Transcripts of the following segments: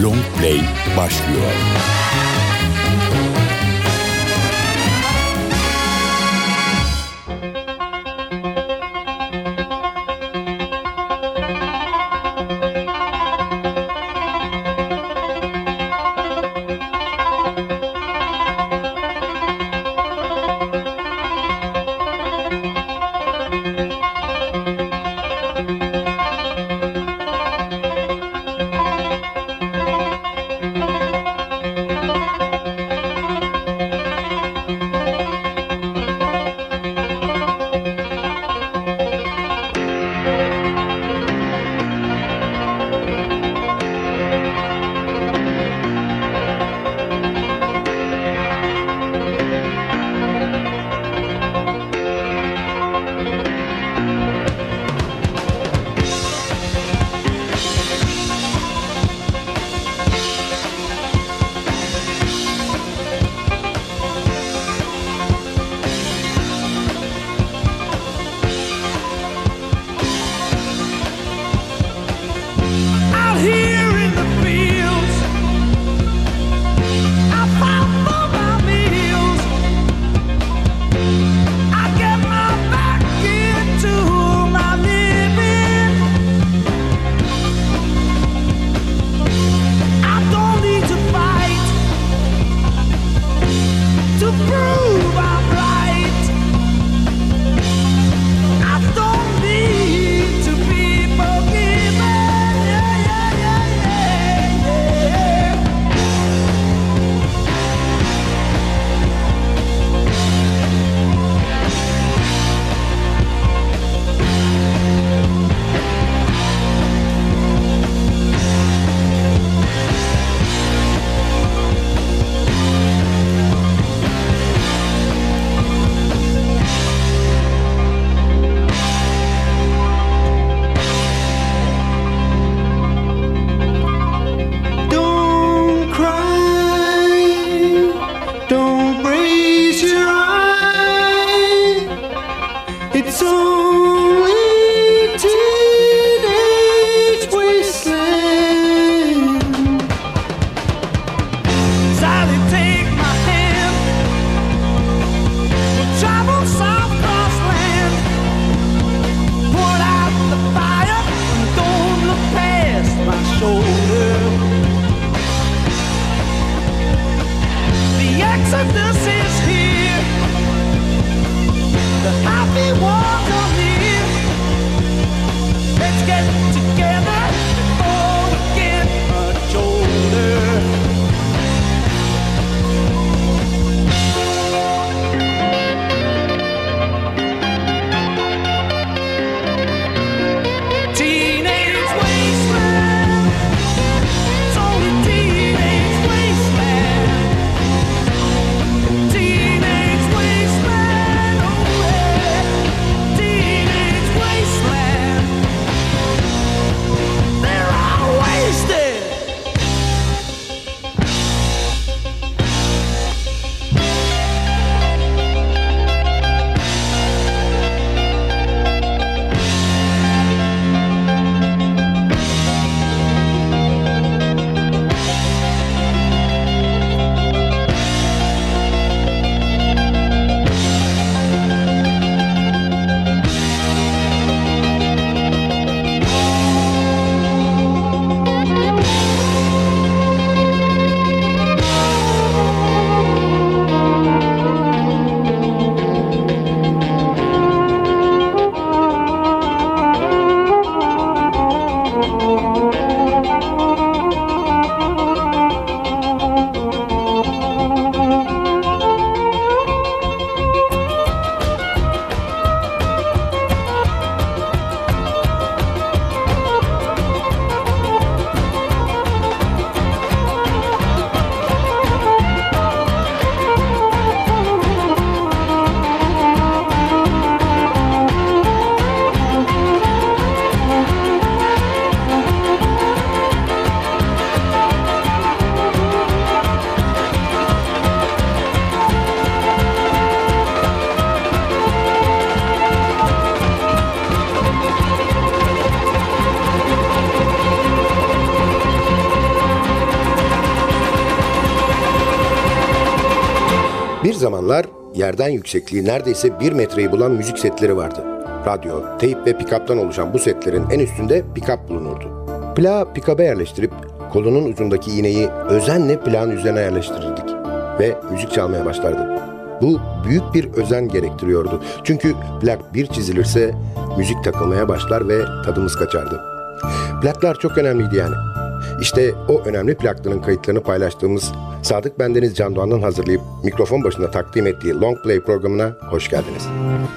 Long Play başlıyor. zamanlar yerden yüksekliği neredeyse 1 metreyi bulan müzik setleri vardı. Radyo, teyp ve pick-up'tan oluşan bu setlerin en üstünde pick-up bulunurdu. Plağı pick-up'a yerleştirip kolunun ucundaki iğneyi özenle plağın üzerine yerleştirirdik ve müzik çalmaya başlardı. Bu büyük bir özen gerektiriyordu. Çünkü plak bir çizilirse müzik takılmaya başlar ve tadımız kaçardı. Plaklar çok önemliydi yani. İşte o önemli plakların kayıtlarını paylaştığımız Sadık Bendeniz Can Doğan'ın hazırlayıp mikrofon başında takdim ettiği Long Play programına hoş geldiniz.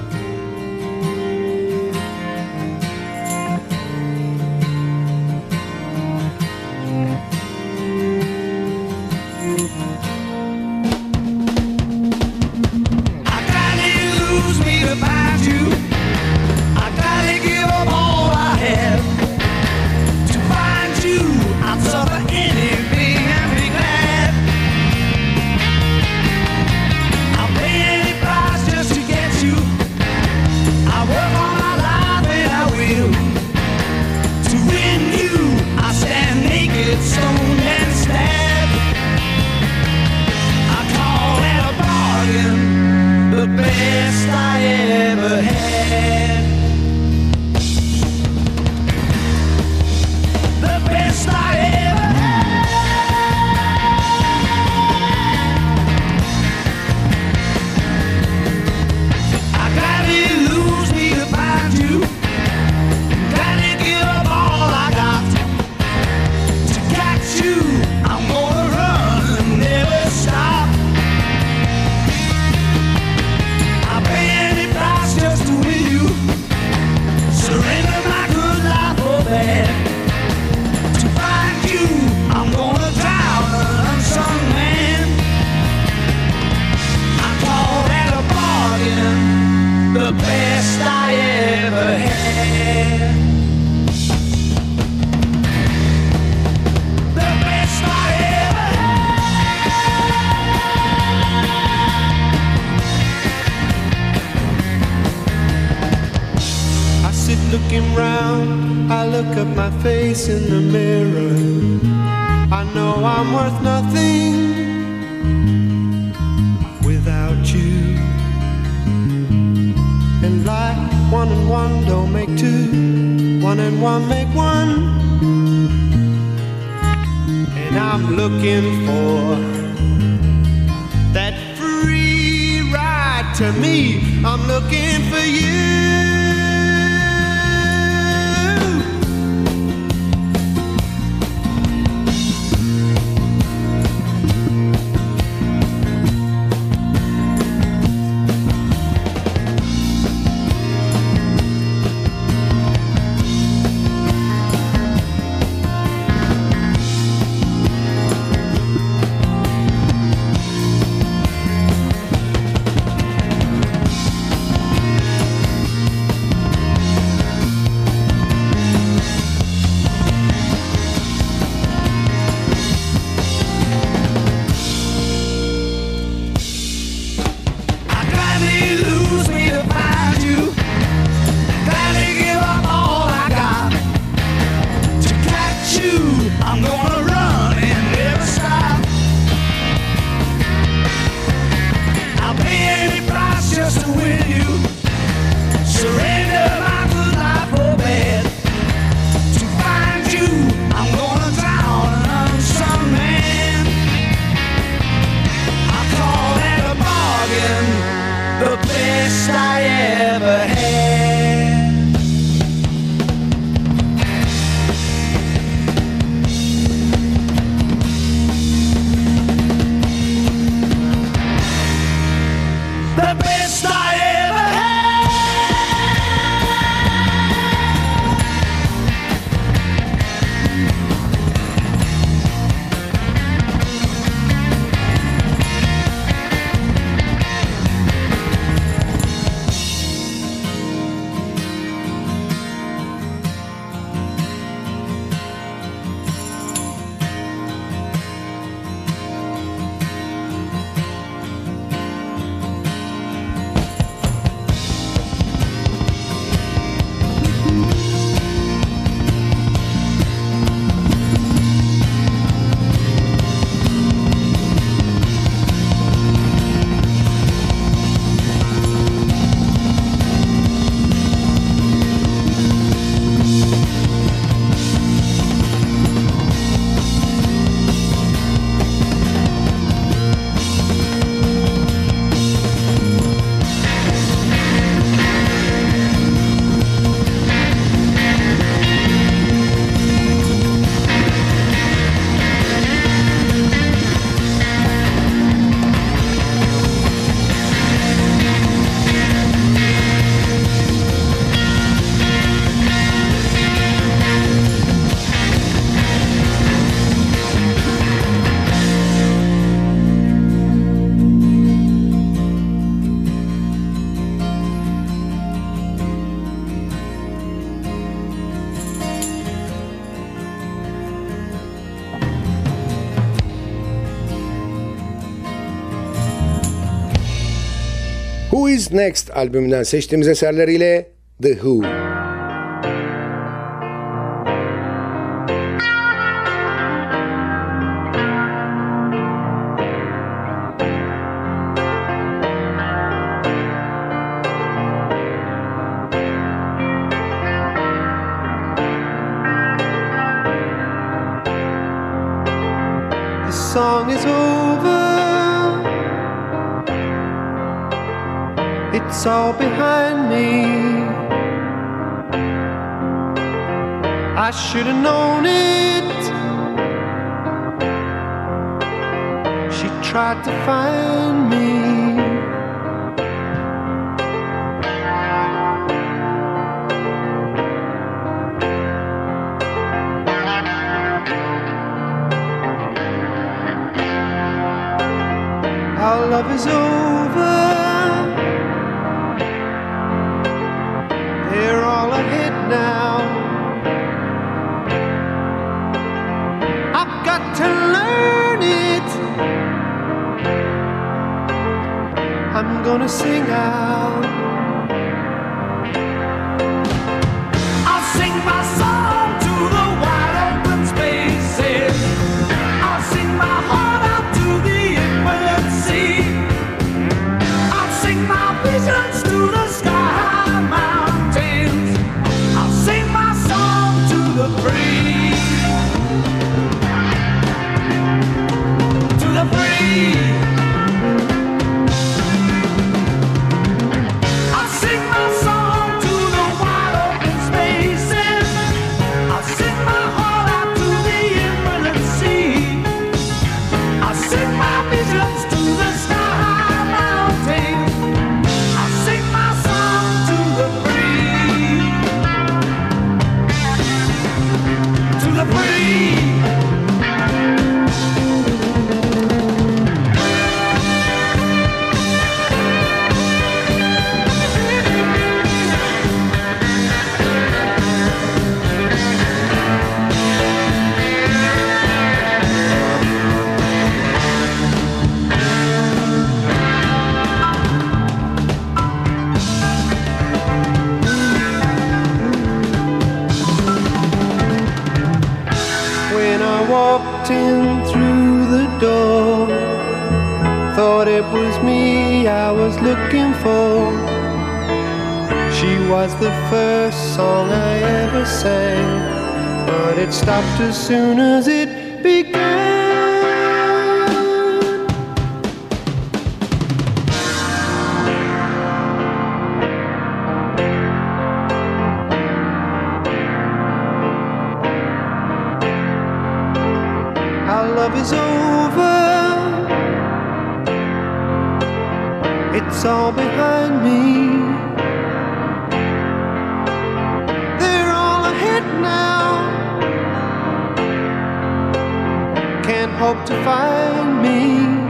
Looking round, I look at my face in the mirror. I know I'm worth nothing without you. And like 1 and 1 don't make 2, 1 and 1 make 1. And I'm looking for that free ride to me. I'm looking for you. Who Is Next albümünden seçtiğimiz eserleriyle The Who. The song is over. It's all behind me. I should have known it. She tried to find me. Our love is over. They're all ahead now. I've got to learn it. I'm gonna sing out. I'll sing my song to the wide open spaces. I'll sing my heart out to the infinite sea. I'll sing my visions to the sky mountains. I'll sing my song to the free. To the free. I'll sing my song to the wide open spaces. I'll sing my heart out to the infinite sea. I'll sing my visions to the sky mountains. I'll sing my song to the free. To the free. When I walked in through the door, thought it was me I was looking for. She was the first song I ever sang, but it stopped as soon as it began. Our love is over. It's all behind me. They're all ahead now. Can't hope to find me.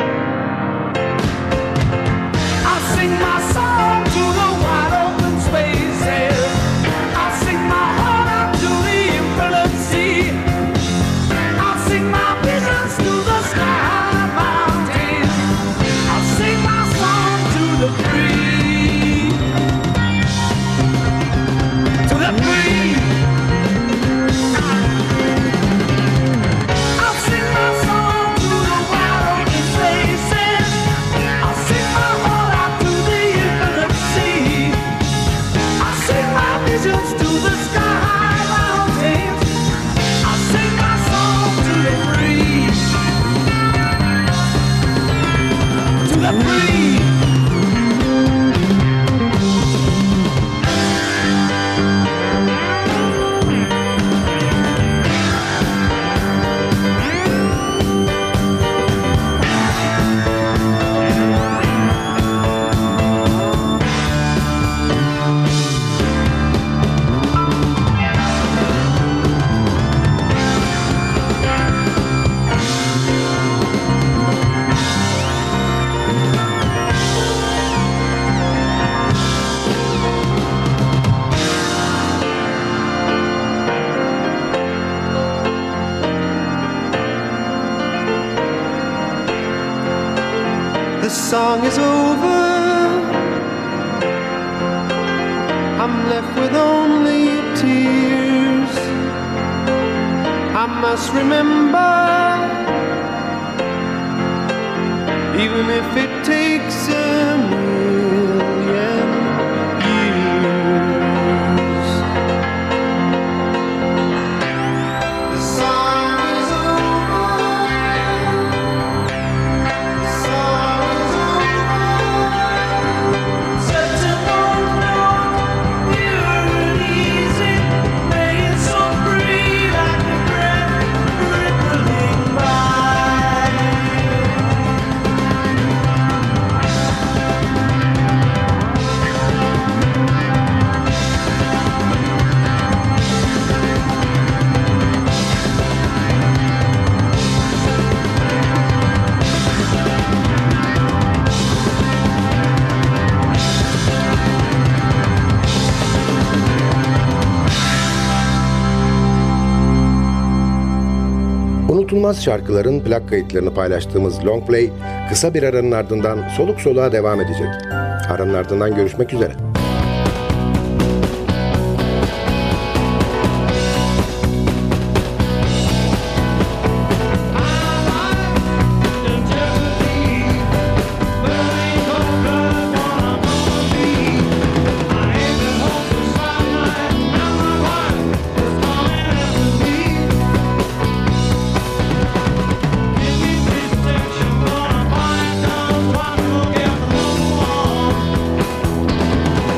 I'll sing my song to the wide open spaces. I'll sing my heart out to the infinite sea. I'll sing my visions to the sky mountains. I'll sing my song to the free. To the free. I'll sing my song to the wide open spaces. I'll sing my heart out to the infinite sea. I'll sing my visions to the sky mountains. I'll sing my song to the free. To the free. The song is over. left with only tears. I must remember, even if it takes a million years. The song is over. The song is over. Such a long note, pure and easy, made so free like a breath rippling by. Unutulmaz şarkıların plak kayıtlarını paylaştığımız Long Play kısa bir aranın ardından soluk soluğa devam edecek. Aranın ardından görüşmek üzere. Section gonna find out what will get along.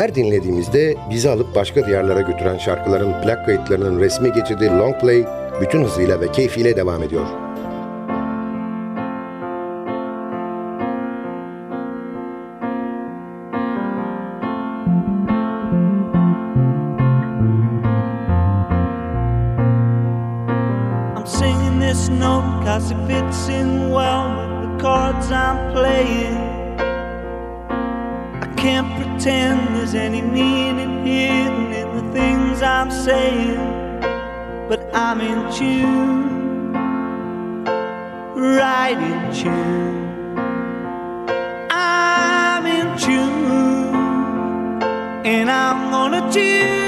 Her dinlediğimizde bizi alıp başka diyarlara götüren şarkıların plak kayıtlarının resmi geçidi Long Play bütün hızıyla ve keyfiyle devam ediyor. I'm singing this note 'cause it fits in well with the chords I'm playing. I can't pretend there's any meaning hidden in the things I'm saying, but I'm in tune, right in tune. I'm in tune, and I'm gonna tune.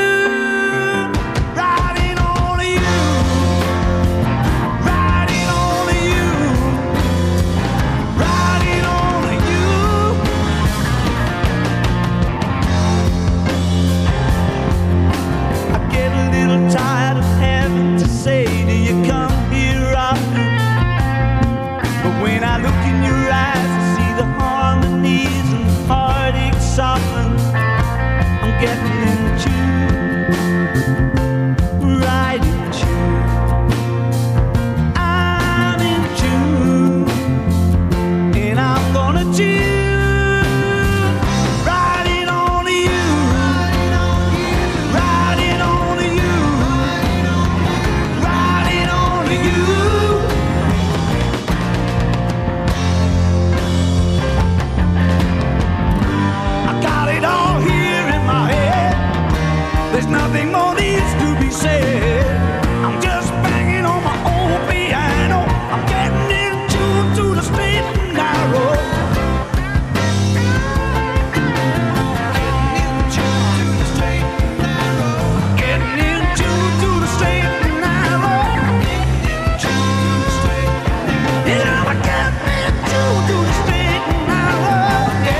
Tired of having to say, do you come here often? But when I look in your eyes, I see the harmonies and the heartache soften. I'm getting in tune, right in tune. I'm in tune, and I'm gonna tune. Nothing more needs to be said. I'm just banging on my old piano. I'm getting in tune to the straight and narrow. Getting in tune to the straight and narrow. Yeah, I'm getting in tune to the straight and narrow.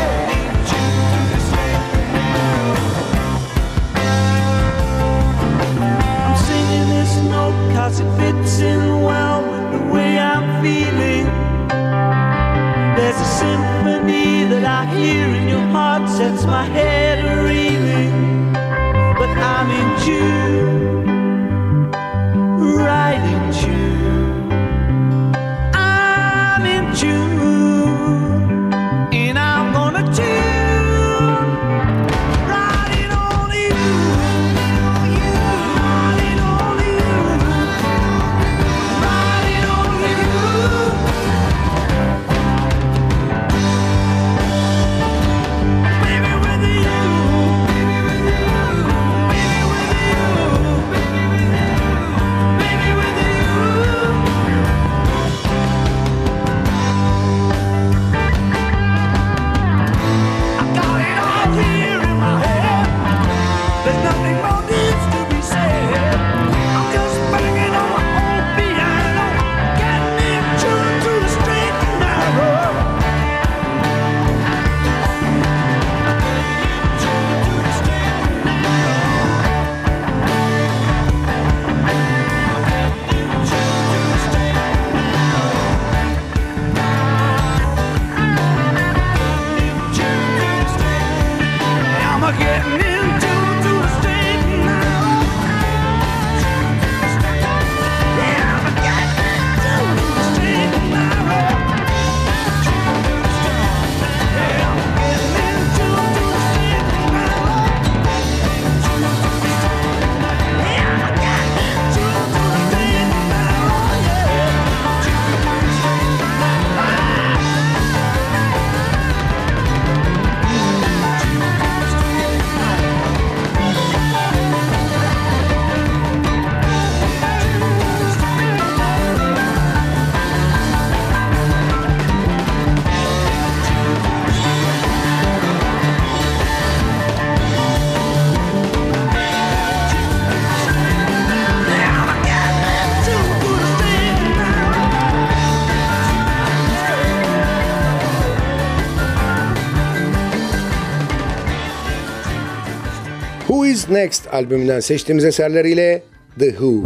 Cause it fits in well with the way I'm feeling. There's a symphony that I hear in your heart, sets my head reeling. But I'm in tune, right in tune. I'm in tune, and I'm gonna tune. Who Is Next albümünden seçtiğimiz eserleriyle The Who.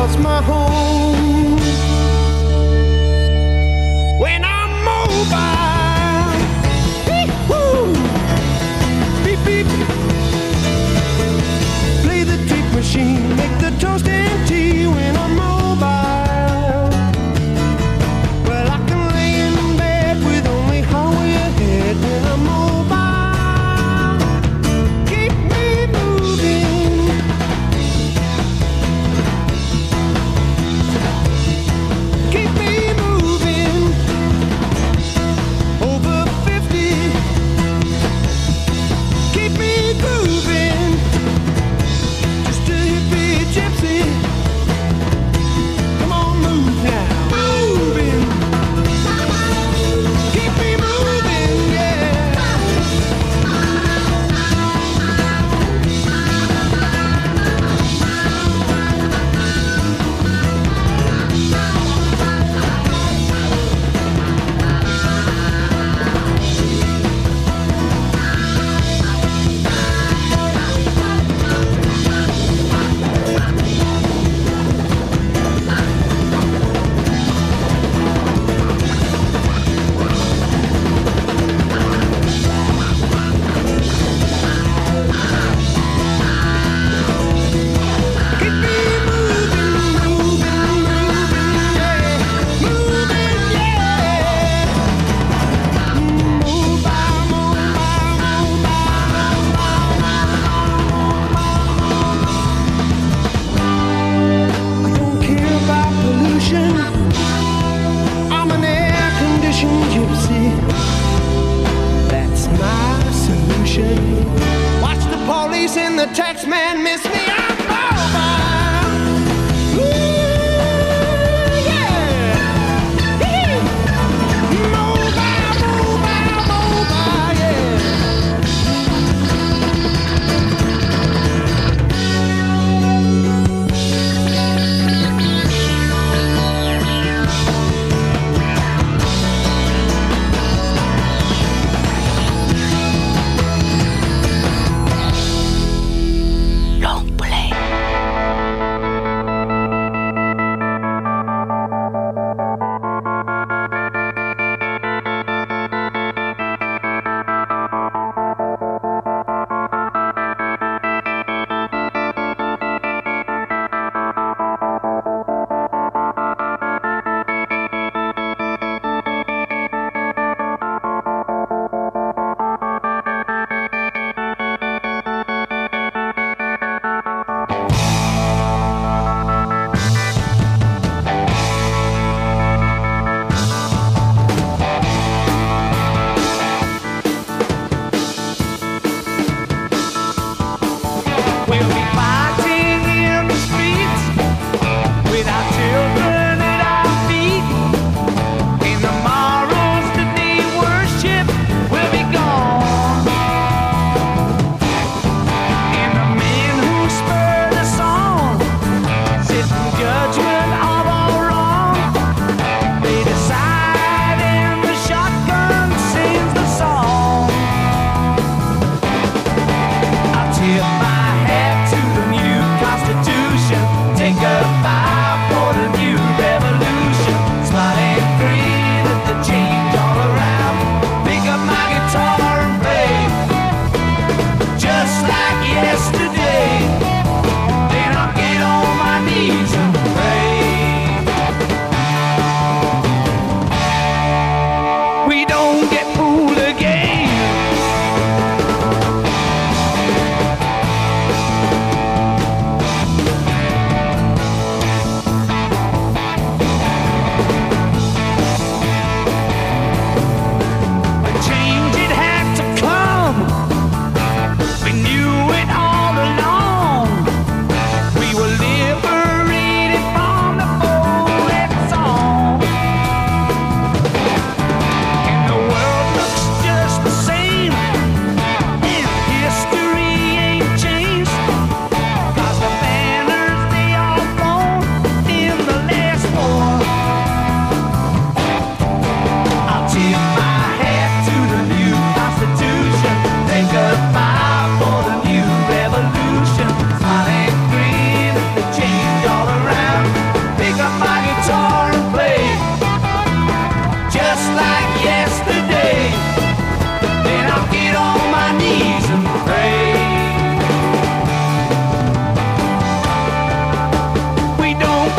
lost my home. When I'm mobile, woo, beep beep. Play the tape machine, make the toast and tea. When I'm mobile, well I can lay in bed with only highway ahead. When I'm mobile, keep me moving. Keep me moving.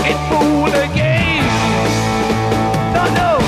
it fool again. No, no.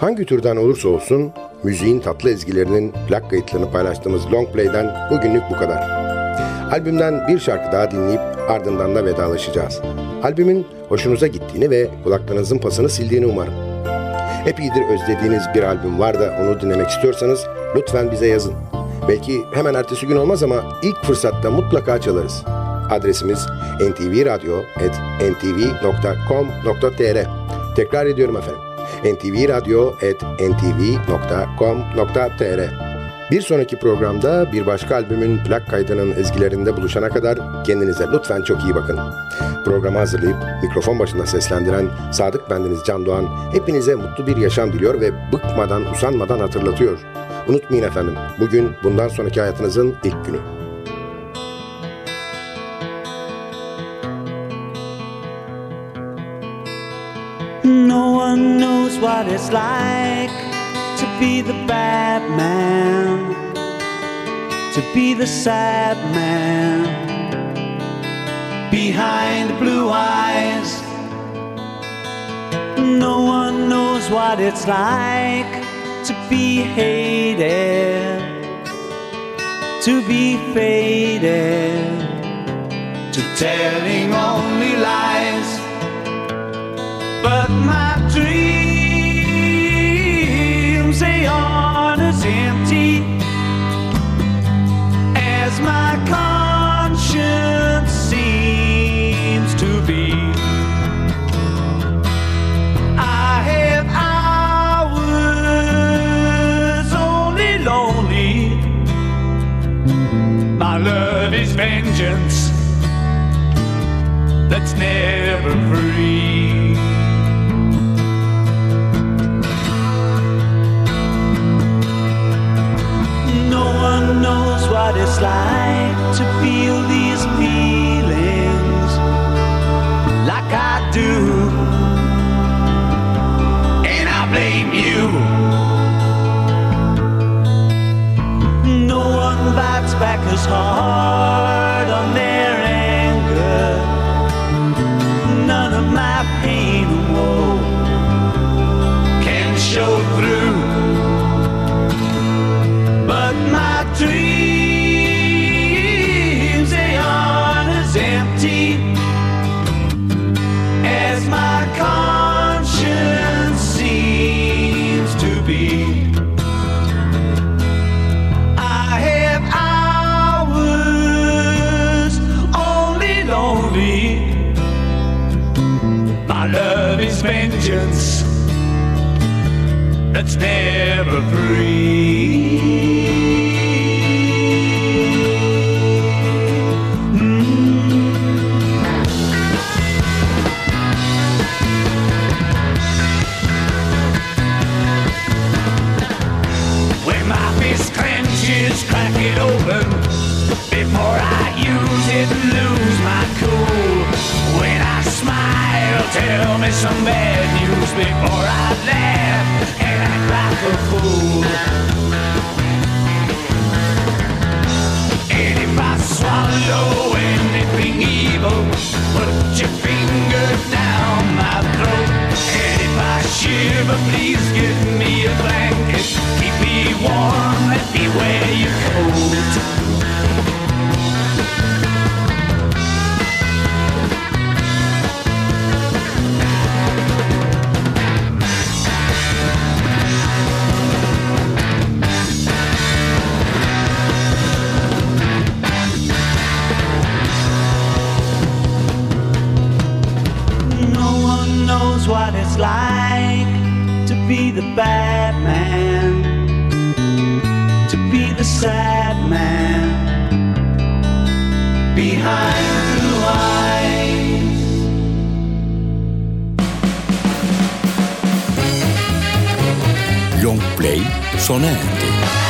Hangi türden olursa olsun müziğin tatlı ezgilerinin plak kayıtlarını paylaştığımız Long Play'den bugünlük bu kadar. Albümden bir şarkı daha dinleyip ardından da vedalaşacağız. Albümün hoşunuza gittiğini ve kulaklarınızın pasını sildiğini umarım. Epeydir özlediğiniz bir albüm var da onu dinlemek istiyorsanız lütfen bize yazın. Belki hemen ertesi gün olmaz ama ilk fırsatta mutlaka çalarız. Adresimiz ntvradio@ntv.com.tr. Tekrar ediyorum efendim. ntvradio@ntv.com.tr. Bir sonraki programda bir başka albümün plak kaydının ezgilerinde buluşana kadar kendinize lütfen çok iyi bakın. Programı hazırlayıp mikrofon başında seslendiren Sadık bendeniz Can Doğan hepinize mutlu bir yaşam diliyor ve bıkmadan, usanmadan hatırlatıyor. Unutmayın efendim, bugün bundan sonraki hayatınızın ilk günü. No one knows what it's like to be the bad man, to be the sad man behind the blue eyes. No one knows what it's like to be hated, to be faded, to telling only lies. But my dreams, they aren't as empty as my conscience seems to be. I have hours only lonely. My love is vengeance that's never free. Knows what it's like to feel these feelings like I do, and I blame you. No one bites back as hard on their anger. None of my pain and woe can show through. But my dreams, they aren't as empty as my conscience seems to be. I have hours only lonely. My love is vengeance that's never free. Crack it open before I use it and lose my cool. When I smile, tell me some bad news before I laugh and act like a fool. And if I swallow anything evil, put your finger down my throat. And if I shiver, please give me a blanket. Keep me warm, let me wear your coat. No one knows what it's like to be the bad man, to be the sad man behind blue eyes. Long Play sona erdi.